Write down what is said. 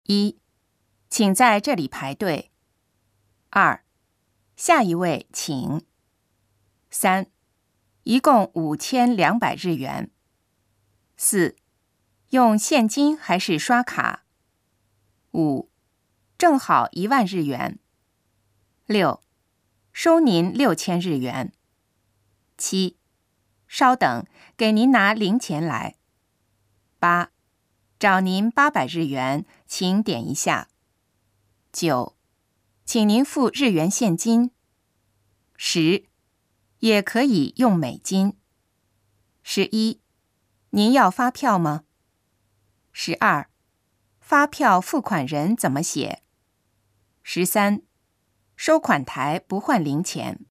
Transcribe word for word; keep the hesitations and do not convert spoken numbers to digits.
一，请在这里排队。二，下一位请。三，一共五千两百日元。四，用现金还是刷卡？五，正好一万日元。六，收您六千日元。七，稍等，给您拿零钱来。八，找您八百日元，请点一下。九，请您付日元现金。十，也可以用美金。十一，您要发票吗？十二，发票付款人怎么写？十三，收款台不换零钱。